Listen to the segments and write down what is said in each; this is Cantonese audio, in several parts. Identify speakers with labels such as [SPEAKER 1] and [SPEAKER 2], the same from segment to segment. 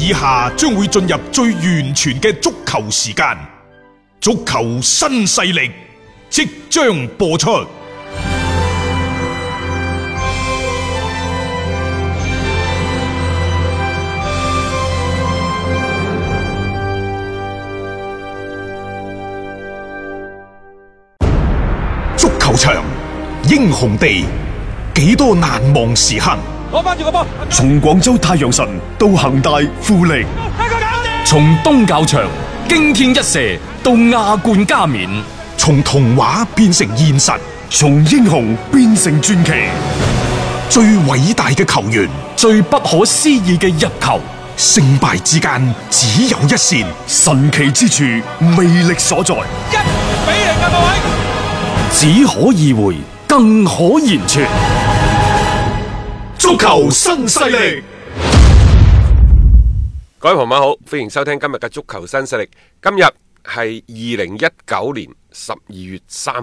[SPEAKER 1] 以下將會進入最完全嘅足球時間，足球新勢力即將播出。足球場，英雄地，幾多難忘時刻。
[SPEAKER 2] 攞翻住個波，
[SPEAKER 3] 從廣州太陽神到恒大富力，
[SPEAKER 4] 從東較場驚天一射到亞冠加冕，
[SPEAKER 1] 從童話變成現實，
[SPEAKER 3] 從英雄變成傳奇。
[SPEAKER 1] 最偉大嘅球員，
[SPEAKER 4] 最不可思議嘅入球，
[SPEAKER 1] 勝敗之間只有一線，
[SPEAKER 3] 神奇之處魅力所在。
[SPEAKER 2] 1-0啊，各位！
[SPEAKER 4] 只可意會，更可言傳。
[SPEAKER 1] 足球新勢力，
[SPEAKER 5] 各位朋友好，歡迎收聽今日嘅足球新勢力。今日係2019年12月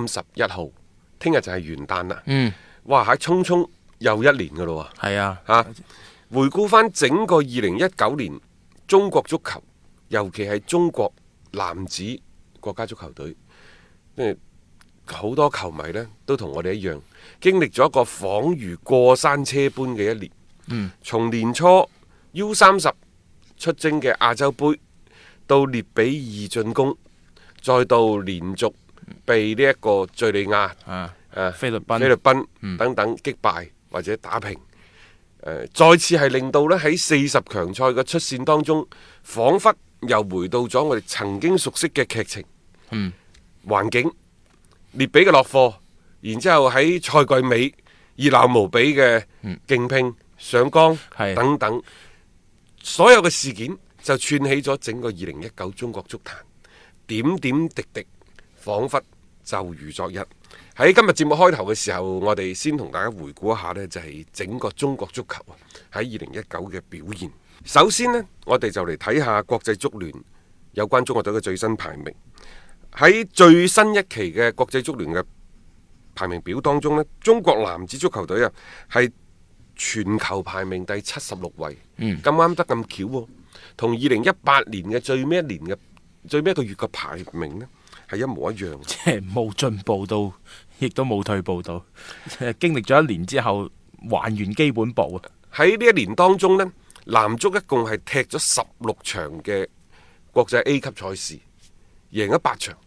[SPEAKER 5] 31號，聽日就係元旦啦。哇，喺匆匆又一年噶咯喎。
[SPEAKER 6] 係啊，
[SPEAKER 5] 回顧翻整個2019年中國足球，尤其係中國男子國家足球隊，好多球迷呢都同我哋一樣，經歷咗一個恍如過山車般嘅一年。從年初 U30 出征嘅亞洲杯，到列比二進攻，再到連續被呢一個敘利亞、
[SPEAKER 6] 菲律賓
[SPEAKER 5] 等等擊敗或者打平。再次係令到呢喺40強賽嘅出線當中，彷彿又回到咗我哋曾經熟悉嘅劇情、環境。列比嘅落課，然之後喺賽季尾熱鬧無比嘅競拼、上崗等等，所有嘅事件就串起咗整個2019中國足壇，點點滴滴，彷彿就如昨日。喺今日節目開頭嘅時候，我哋先同大家回顧一下呢，就係整個中國足球喺2019嘅表現。首先呢，我哋就嚟睇下國際足聯有關中國隊嘅最新排名。喺最新一期嘅國際足聯嘅排名表當中呢，中國男子足球隊啊係全球排名第76位，咁啱得咁巧喎，同2018年嘅最尾一個月嘅排名呢係一模一樣，
[SPEAKER 6] 即係冇進步到，亦都冇退步到，經歷咗一年之後還原基本步啊！
[SPEAKER 5] 喺呢一年當中呢，男足一共係踢咗16場嘅國際 A 級賽事，贏咗8場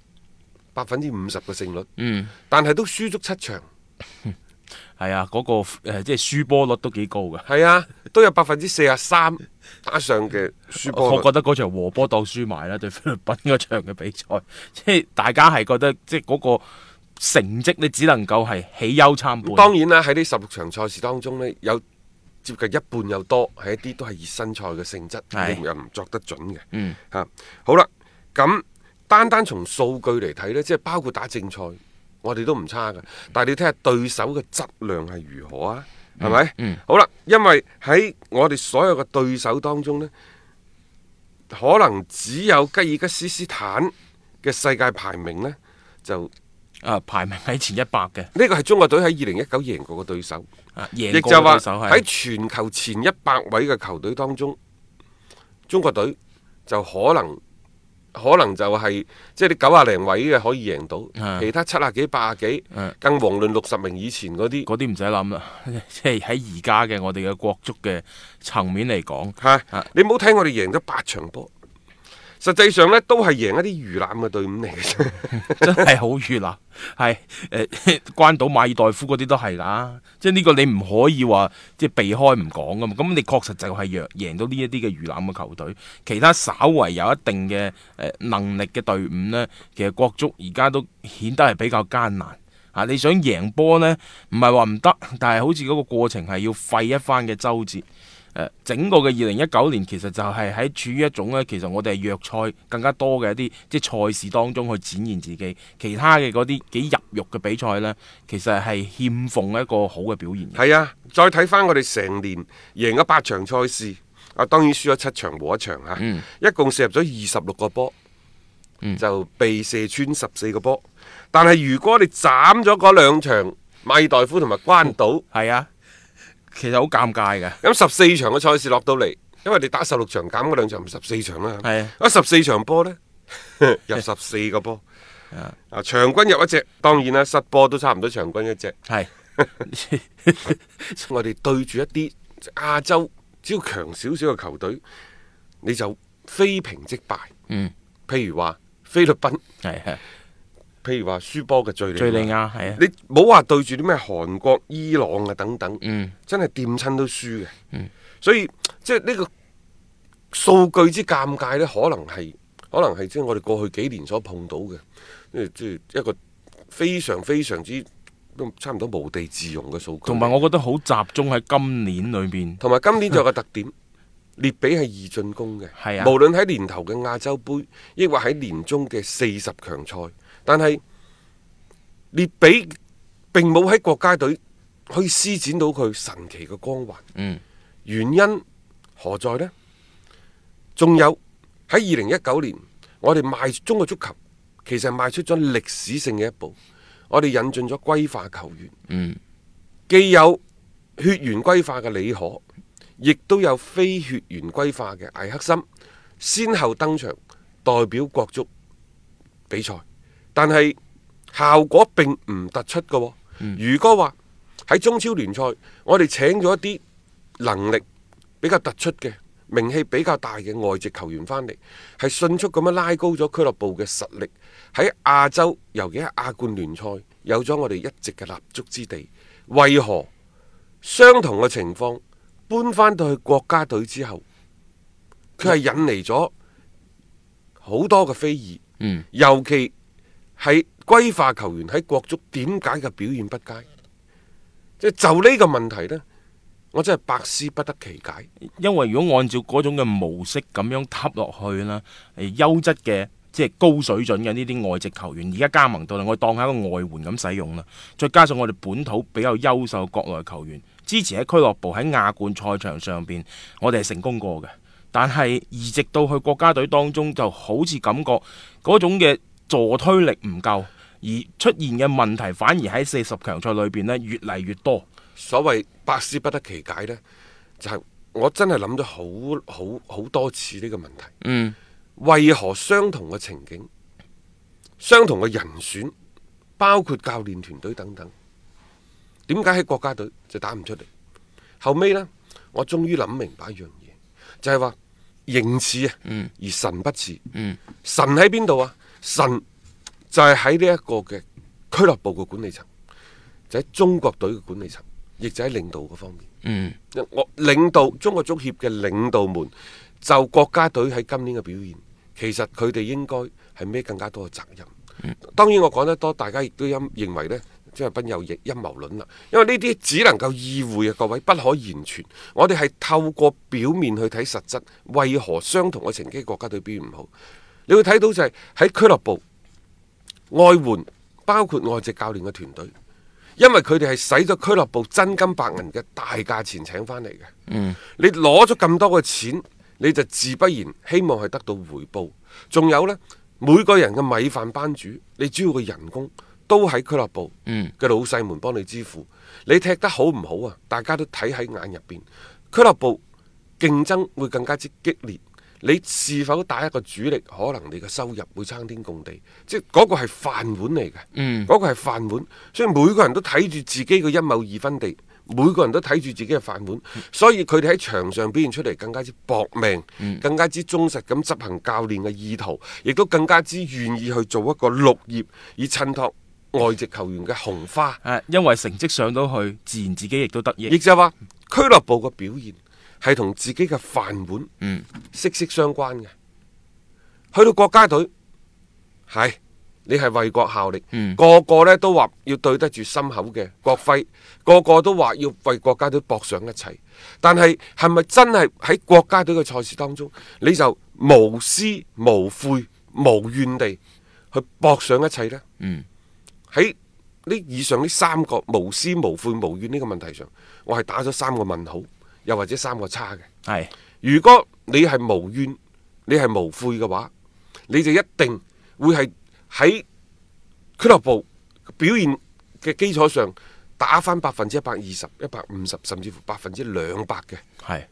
[SPEAKER 5] ，50%嘅勝率，但係都輸足7場。
[SPEAKER 6] 係啊，嗰個即係輸波率都幾高㗎。
[SPEAKER 5] 係啊，都有43%打上嘅輸波率。
[SPEAKER 6] 我覺得嗰場和波當輸埋啦，對菲律賓嗰場嘅比賽，即係大家係覺得即係嗰個成績，你只能夠係喜憂參半。
[SPEAKER 5] 當然啦，喺呢16場賽事當中呢，有接近一半有多係一啲都係熱身賽嘅性質，又唔作得準嘅。好啦，咁單從數據嚟睇呢，即係包括打正賽，我哋都唔差㗎。但係你睇下對手嘅質量係如何啊？係咪？好啦，因為喺我哋所有嘅對手當中呢，可能只有吉爾吉斯斯坦嘅世界排名呢，就
[SPEAKER 6] 排名喺前100嘅。
[SPEAKER 5] 呢個係中國隊喺2019贏過嘅對手，
[SPEAKER 6] 亦就話
[SPEAKER 5] 喺全球前100位嘅球隊當中，中國隊就可能就係即係你90零位嘅可以贏到，其他70幾80幾，更遑論60名以前嗰啲
[SPEAKER 6] 唔使諗啦。即係喺而家嘅我哋嘅國足嘅層面嚟講，
[SPEAKER 5] 你唔好睇我哋贏咗8場波，實際上呢都係贏一啲魚腩嘅隊伍嚟嘅，
[SPEAKER 6] 真係好魚腩。係關島馬爾代夫嗰啲都係㗎，即係呢個你唔可以話即係避開唔講㗎嘛。咁你確實就係贏到呢一啲嘅魚腩嘅球隊，其他稍為有一定嘅能力嘅隊伍呢，其實國足而家都顯得係比較艱難。你想贏波呢，唔係話唔得，但係好似嗰個過程係要費一番嘅周折。整個嘅2019年其實就係喺處於一種呢，其實我哋係弱賽更加多嘅一啲即係賽事當中去展現自己，其他嘅嗰啲幾入肉嘅比賽呢，其實係欠奉一個好嘅表現。
[SPEAKER 5] 係啊，再睇翻我哋成年贏咗8場賽事，當然輸咗7場和1場嚇，一共射入咗26個波，就被射穿14個波。但係如果你斬咗嗰2場馬爾代夫同埋關島，
[SPEAKER 6] 係啊。其實好尷尬嘅，
[SPEAKER 5] 咁14場嘅賽事落到嚟， 因為你打16場減嗰2場14場啦。
[SPEAKER 6] 係
[SPEAKER 5] 啊14場波呢，入14個波。啊場均入一隻，當然啦，失波都差唔多場均一隻。
[SPEAKER 6] 係
[SPEAKER 5] 我哋對住一啲亞洲只要強少少嘅球隊，你就非平即敗。譬如話菲律賓，
[SPEAKER 6] 係
[SPEAKER 5] 譬如話輸波嘅敘
[SPEAKER 6] 敍利亞係啊，
[SPEAKER 5] 你冇話對住啲咩韓國、伊朗啊等等，真係掂親都輸嘅。所以即係呢個數據之尷尬呢，可能係即係我哋過去幾年所碰到嘅，即係一個非常非常之都差唔多無地自容嘅數據。
[SPEAKER 6] 同埋我覺得好集中喺今年裏邊。
[SPEAKER 5] 同埋今年仲有個特點，列比係易進攻嘅，
[SPEAKER 6] 係啊
[SPEAKER 5] 無論喺年頭嘅亞洲杯，抑或喺年中嘅40強賽，但係列比並冇喺國家隊可以施展到佢神奇嘅光環。原因何在呢？仲有喺2019年，我哋邁中國足球其實邁出咗歷史性嘅一步，我哋引進咗歸化球員，既有血緣歸化嘅李可，亦都有非血緣歸化嘅艾克森，先後登場代表國足比賽，但係效果並唔突出嘅喎。如果話喺中超聯賽，我哋請咗一啲能力比較突出嘅、名氣比較大嘅外籍球員翻嚟，係迅速咁樣拉高咗俱樂部嘅實力，喺亞洲，尤其係亞冠聯賽有咗我哋一直嘅立足之地。為何相同嘅情況搬翻到去國家隊之後，佢係引嚟咗好多嘅非議，尤其係歸化球員喺國足點解嘅表現不佳？即係就呢個問題呢，我真係百思不得其解。
[SPEAKER 6] 因為如果按照嗰種嘅模式咁樣揼落去啦，優質嘅即係高水準嘅呢啲外籍球員，而家加盟到啦，我當係一個外援咁使用啦。再加上我哋本土比較優秀國內球員，之前喺俱樂部喺亞冠賽場上邊，我哋係成功過嘅。但係移植到去國家隊當中，就好似感覺嗰種嘅助推力唔夠，而出現嘅問題反而喺40強賽裏邊呢越嚟越多。
[SPEAKER 5] 所謂百思不得其解呢，就係我真係諗咗好多次呢個問題。為何相同嘅情景、相同嘅人選，包括教練團隊等等，點解喺國家隊就打唔出嚟？後尾呢，我終於諗明白一樣嘢，就係話形似啊，而神不似。神喺邊度啊？神就係喺呢一個嘅俱樂部嘅管理層，就喺中國隊嘅管理層，亦就喺領導嗰方面。我領導中國足協嘅領導們，就國家隊喺今年嘅表現，其實佢哋應該係孭更加多嘅責任。當然我講得多，大家亦都認為呢，張達斌有陰謀論啦。因為呢啲只能夠意會啊，各位不可言傳。我哋係透過表面去睇實質，為何相同嘅成績國家隊表現唔好？你會睇到就係喺俱樂部外援，包括外籍教練嘅團隊，因為佢哋係使咗俱樂部真金白銀嘅大價錢請翻嚟嘅。你攞咗咁多嘅錢，你就自不然希望係得到回報。仲有呢，每個人嘅米飯班主，你主要嘅人工都喺俱樂部嘅老細們幫你支付。你踢得好唔好啊？大家都睇喺眼入邊。俱樂部競爭會更加之激烈。你是否打一個主力，可能你嘅收入會參天共地，即係嗰個係飯碗嚟嘅，嗰個係飯碗，所以每個人都睇住自己嘅一畝二分地，每個人都睇住自己嘅飯碗，所以佢哋喺場上表現出嚟更加之搏命，更加之忠實咁執行教練嘅意圖，亦都更加之願意去做一個綠葉，以襯托外籍球員嘅紅花。
[SPEAKER 6] 因為成績上到去，自然自己亦都得益。
[SPEAKER 5] 亦就係話俱樂部嘅表現係同自己嘅飯碗息息相關嘅。去到國家隊，係你係為國效力，個個呢都話要對得住心口嘅國徽，個個都話要為國家隊搏上一切。但係係咪真係喺國家隊嘅賽事當中，你就無私無悔無怨地去搏上一切呢？喺呢以上呢3個無私無悔無怨呢個問題上，我係打咗3個問號，又或者3個叉嘅。
[SPEAKER 6] 係，
[SPEAKER 5] 如果你係無怨，你係無悔嘅話，你就一定會係喺俱樂部表現嘅基礎上打翻120%、150%，甚至乎200%嘅。
[SPEAKER 6] 係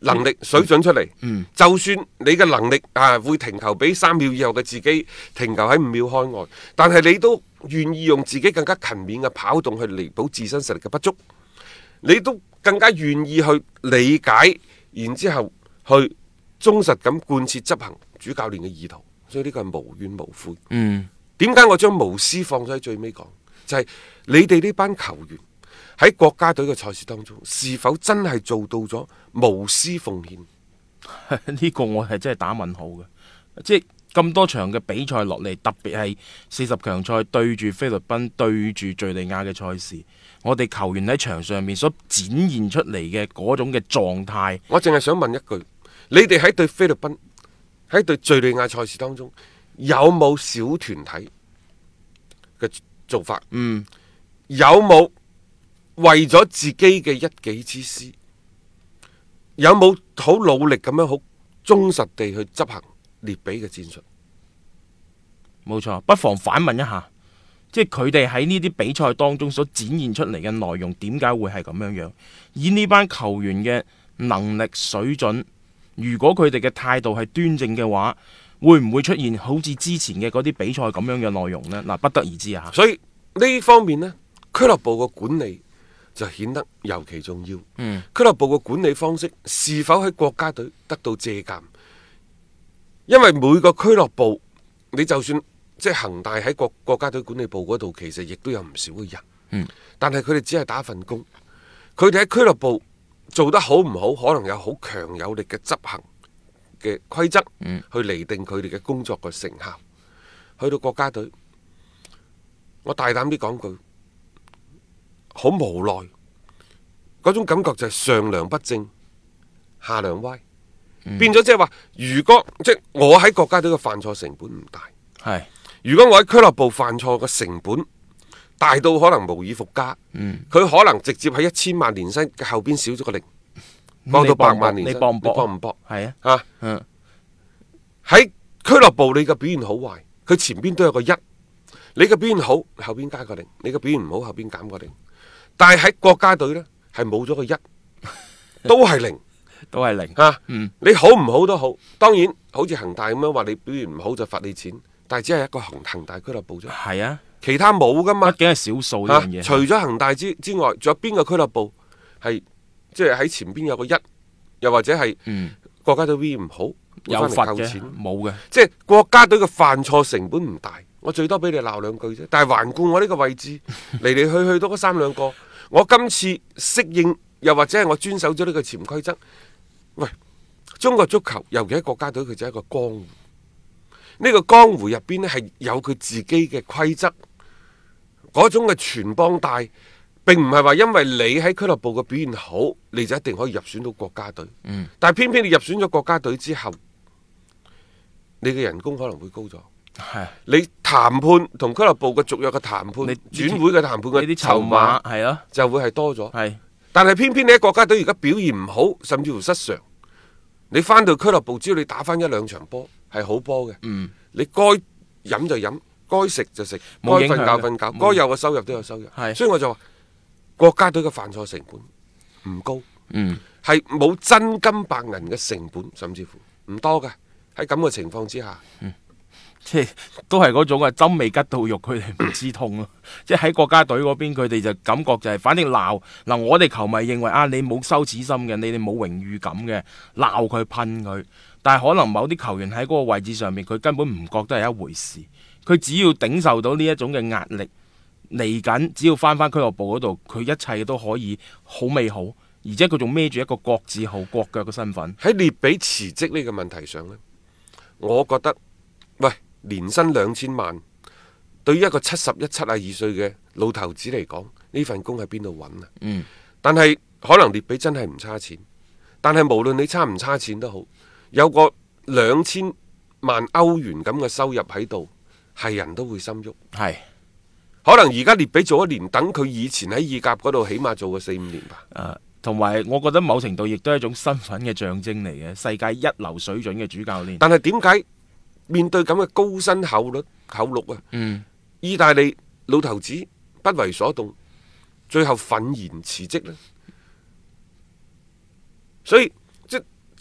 [SPEAKER 5] 能力水準出嚟，就算你嘅能力會停球比3秒以後嘅自己停球喺5秒開外，但係你都願意用自己更加勤勉嘅跑動去彌補自身實力嘅不足，你都更加願意去理解，然之後去忠實咁貫徹執行主教練嘅意圖，所以呢個係無怨無悔。點解我將無私放咗喺最尾講？就係你哋呢班球員喺國家隊嘅賽事當中，是否真係做到咗無私奉獻？
[SPEAKER 6] 呢個我係真係打問號嘅，即係咁多場嘅比賽落嚟，特別係40強賽對住菲律賓、對住敘利亞嘅賽事，我哋球員喺場上面所展現出嚟嘅嗰種嘅狀態，
[SPEAKER 5] 我淨係想問一句：你哋喺對菲律賓、喺對敘利亞賽事當中，有冇小團體嘅做法？有冇為咗自己嘅一己之私，有冇好努力咁樣好忠實地去執行列比嘅戰術？
[SPEAKER 6] 冇錯，不妨反問一下，即係佢哋喺呢啲比賽當中所展現出嚟嘅內容，點解會係咁樣樣？以呢班球員嘅能力水準，如果佢哋嘅態度係端正嘅話，會唔會出現好似之前嘅嗰啲比賽咁樣嘅內容呢？嗱，不得而知啊。
[SPEAKER 5] 所以呢方面呢，俱樂部嘅管理就顯得尤其重要。俱樂部嘅管理方式是否喺國家隊得到借鑑？因為每個俱樂部，你就算即係恒大喺國家隊管理部嗰度，其實亦都有唔少嘅人。但係佢哋只係打份工，佢哋喺俱樂部做得好唔好，可能有好強有力嘅執行嘅規則，去釐定佢哋嘅工作嘅成效。去到國家隊，我大膽啲講句，好無奈，嗰種感覺就係上梁不正下梁歪，變咗即係話，如果即係我喺國家隊嘅犯錯成本唔大，
[SPEAKER 6] 係
[SPEAKER 5] 如果我喺俱樂部犯錯嘅成本大到可能無以復加，佢可能直接喺1000萬年薪嘅後邊少咗個零，降到100萬年薪，
[SPEAKER 6] 你搏唔搏？
[SPEAKER 5] 你搏唔搏？
[SPEAKER 6] 係啊，
[SPEAKER 5] 喺俱樂部你嘅表現好壞，佢前邊都有個1，你嘅表現好後邊加個0，你嘅表現唔好後邊減個0。但係喺國家隊呢，係冇咗個1，都係0，
[SPEAKER 6] 都係0。
[SPEAKER 5] 你好唔好都好，當然好似恒大咁樣話你表現唔好就罰你錢，但係只係一個恒大俱樂部啫。
[SPEAKER 6] 係啊，
[SPEAKER 5] 其他冇噶嘛，
[SPEAKER 6] 畢竟係少數呢樣嘢。
[SPEAKER 5] 除咗恒大之外，仲有邊個俱樂部係即係喺前邊有個1，又或者係國家隊 V 唔好
[SPEAKER 6] 有罰嘅？冇嘅，
[SPEAKER 5] 即係國家隊嘅犯錯成本唔大，我最多俾你鬧2句啫。但係環顧我呢個位置嚟嚟去去都嗰3兩個，我今次適應又或者係我遵守咗呢個潛規則。喂，中國足球尤其喺國家隊，佢就係一個江湖。呢個江湖入邊呢，係有佢自己嘅規則，嗰種嘅傳幫帶，並唔係話因為你喺俱樂部嘅表現好，你就一定可以入選到國家隊。但係偏偏你入選咗國家隊之後，你嘅人工可能會高咗。你談判同俱樂部嘅續約嘅談判，轉會嘅談判嘅啲籌碼
[SPEAKER 6] 係咯，
[SPEAKER 5] 就會係多咗。
[SPEAKER 6] 係，但
[SPEAKER 5] 係偏偏你喺國家隊而家表現唔好，甚至乎失常，你翻到俱樂部，只要你打翻1-2場波係好波嘅，你該飲就飲，該食就食，該瞓覺瞓覺，該有嘅收入都有收入。所以我就話國家隊嘅犯錯成本唔高，係冇真金白銀嘅成本，甚至乎唔多嘅。喺咁嘅情況之下，
[SPEAKER 6] 即係都係嗰種針未吉到肉，佢哋唔知痛咯。即係喺國家隊嗰邊，佢哋就感覺就係，反正鬧嗱，我哋球迷認為啊，你冇羞恥心嘅，你哋冇榮譽感嘅，鬧佢噴佢。但係可能某啲球員喺嗰個位置上面，佢根本唔覺得係一回事。佢只要頂受到呢一種嘅壓力，嚟緊只要翻俱樂部嗰度，佢一切都可以好美好。而且佢仲孭住一個國字號、國腳嘅身份。
[SPEAKER 5] 喺列比辭職呢個問題上呢，我覺得喂，年薪2000萬，對於一個71、72歲嘅老頭子嚟講，呢份工喺邊度揾啊？但係可能列比真係唔差錢，但係無論你差唔差錢都好，有個2000萬歐元咁嘅收入喺度，係人都會心喐。係，可能而家列比做1年，等佢以前喺意甲嗰度起碼做個4-5年吧。
[SPEAKER 6] 同埋我覺得某程度亦都係一種身份嘅象徵嚟嘅，世界一流水準嘅主教練。
[SPEAKER 5] 但係點解面對咁嘅高薪厚祿啊？意大利老頭子不為所動，最後憤然辭職呢？所以即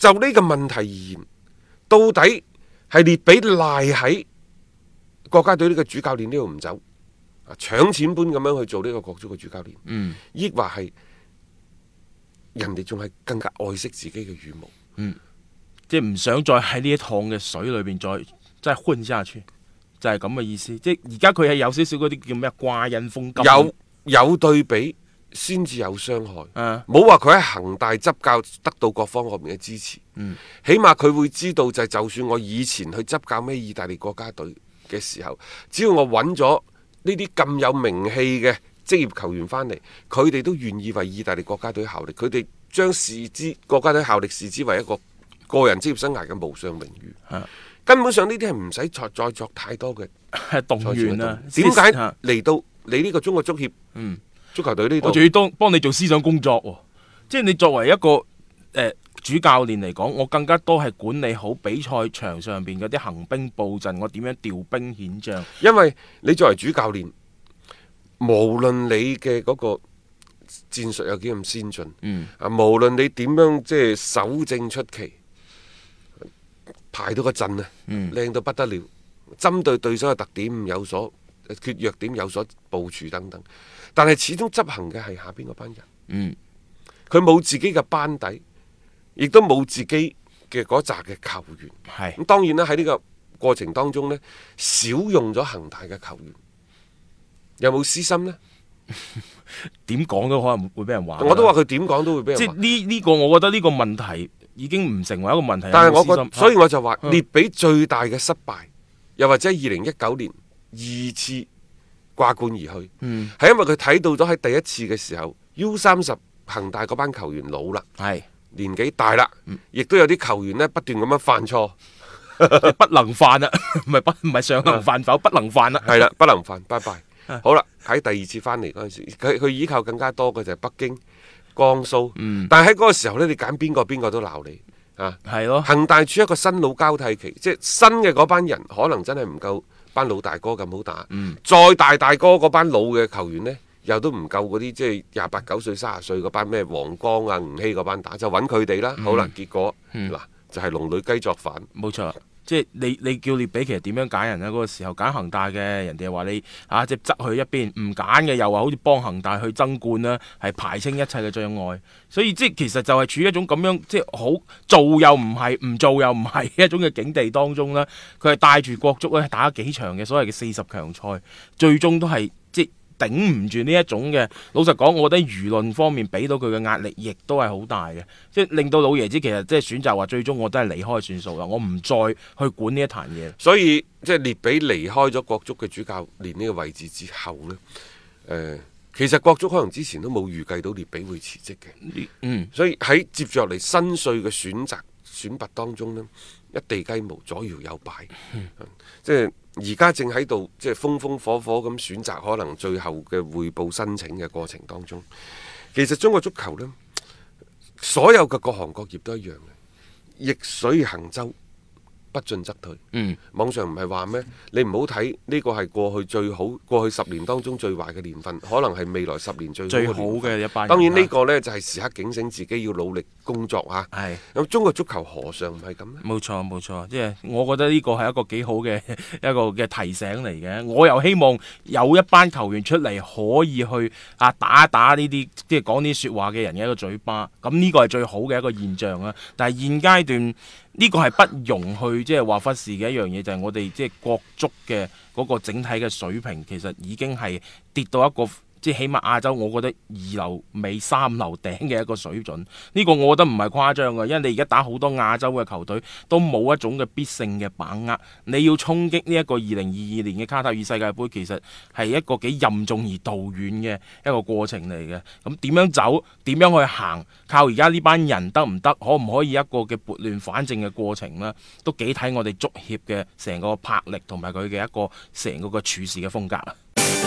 [SPEAKER 5] 就呢個問題而言，到底係列比賴喺國家隊呢個主教練呢度唔走，搶錢般咁樣去做呢個國足嘅主教練，抑或係人哋仲係更加愛惜自己嘅羽毛，
[SPEAKER 6] 即係唔想再喺呢一趟嘅水裏邊再混下去，就係咁嘅意思。即係而家佢係有少少嗰啲叫咩掛印風金，
[SPEAKER 5] 有對比先至有傷害。冇話佢喺恒大執教得到各方面嘅支持，起碼佢會知道就算我以前去執教咩意大利國家隊嘅時候，只要我揾咗呢啲咁有名氣嘅職業球員翻嚟，佢哋都願意為意大利國家隊效力。佢哋將國家隊效力視之為一個個人職業生涯嘅無上榮譽。根本上呢啲係唔使再作太多嘅
[SPEAKER 6] 動員啦。
[SPEAKER 5] 點解嚟到你呢個中國足協足球隊呢度，
[SPEAKER 6] 我仲要幫你做思想工作喎？即係你作為一個主教練嚟講，我更加多係管理好比賽場上邊嗰啲行兵布陣，我點樣調兵遣將。因
[SPEAKER 5] 為你作為主教練，無論你嘅嗰個戰術有幾咁先進，無論你點樣即係守正出奇，排到個陣靚到不得了，針對對手嘅特點有所缺弱點有所部署等等，但係始終執行嘅係下邊嗰班人，佢冇自己嘅班底，亦都冇自己嘅嗰扎嘅球員。咁當然啦，喺呢個過程當中呢，少用咗恒大嘅球員，有冇私心呢？
[SPEAKER 6] 點講都可能會俾人話。
[SPEAKER 5] 我都話佢點講都會俾人話。
[SPEAKER 6] 即係呢個，我覺得呢個問題已經唔成為一個問題。
[SPEAKER 5] 但係我覺得，所以我就話列比最大嘅失敗，又或者2019年2次掛冠而去，係因為佢睇到咗喺第一次嘅時候 U30 恒大嗰班球員老啦，年紀大啦，亦都有啲球員呢不斷咁樣犯錯，
[SPEAKER 6] 不能犯啊，唔係上能犯否，不能犯啦，
[SPEAKER 5] 係啦，不能犯，拜拜。好啦，喺第二次翻嚟嗰陣時，佢依靠更加多嘅就係北京、江蘇，但係喺嗰個時候呢，你揀邊個都鬧你啊，係咯。恒大處一個新老交替期，即係新嘅嗰班人可能真係唔夠班老大哥咁好打，再大哥嗰班老嘅球員呢，又都唔夠嗰啲即係28、9歲、30歲嗰班咩黃江啊、吳曦嗰班打，就揾佢哋啦。好啦，結果嗱就係龍女雞作反，
[SPEAKER 6] 冇錯。即係你叫列比其實點樣揀人呢？嗰個時候揀恒大嘅人哋話你即係側去一邊，唔揀嘅又話好似幫恒大去爭冠啦，係排清一切嘅障礙。所以即係其實就係處於一種咁樣即係好做又唔係，唔做又唔係一種嘅境地當中啦。佢係帶住國足咧打咗幾場嘅所謂嘅40強賽，最終都係即係頂唔住呢一種嘅。老實講，我覺得輿論方面俾到佢嘅壓力亦都係好大嘅，即係令到老爺子其實即係選擇話最終我都係離開算數啦，我唔再去管呢一壇嘢。
[SPEAKER 5] 所以即係列比離開咗國足嘅主教練呢個位置之後呢，其實國足可能之前都冇預計到列比會辭職嘅，所以喺接住落嚟新帥嘅選拔當中呢，一地雞毛，左搖右擺，即係而家正喺度即係風火火咁選擇可能最後嘅匯報申請嘅過程當中。其實中國足球呢，所有嘅各行各業都一樣嘅，逆水行舟，不進則退。網上唔係話咩？你唔好睇呢個係過去10年當中最壞嘅年份，可能係未來10年最好嘅一班人。當然呢個呢，就係時刻警醒自己要努力工作啊。係咁，中國足球何嘗唔係咁呢？
[SPEAKER 6] 冇錯，即係我覺得呢個係一個幾好嘅一個嘅提醒嚟嘅。我又希望有一班球員出嚟可以去打一打呢啲即係講啲説話嘅人嘅一個嘴巴。咁呢個係最好嘅一個現象啊。但係現階段呢個係不容去即係話忽視嘅一樣嘢，就係我哋即係國足嘅嗰個整體嘅水平，其實已經係跌到一個即係起碼亞洲，我覺得2流尾3流頂嘅一個水準。呢個我覺得唔係誇張嘅，因為你而家打好多亞洲嘅球隊都冇一種嘅必勝嘅把握。你要衝擊呢一個2022年嘅卡塔爾世界盃，其實係一個幾任重而道遠嘅一個過程嚟嘅。咁點樣走？點樣去行？靠而家呢班人得唔得？可唔可以一個嘅撥亂反正嘅過程呢？都幾睇我哋足協嘅成個魄力同埋佢嘅一個成個嘅處事嘅風格啊！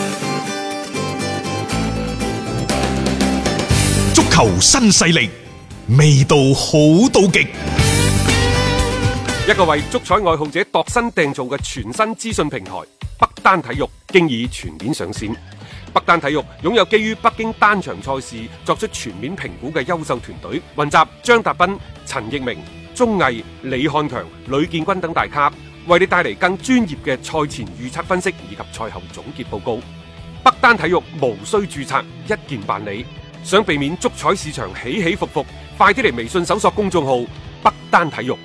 [SPEAKER 1] 足球新勢力，味道好到極。
[SPEAKER 2] 一個為足彩愛好者度身訂造嘅全新資訊平台北單體育，經已全面上線。北單體育擁有基於北京單場賽事作出全面評估嘅優秀團隊，雲集張達斌、陳奕明、 鐘毅、李漢強、呂建軍等大咖，為你帶嚟更專業嘅賽前預測分析以及賽後總結報告。北單體育無需註冊，一鍵辦理。想避免足彩市場起起伏伏，快啲嚟微信搜索公眾號北單體育。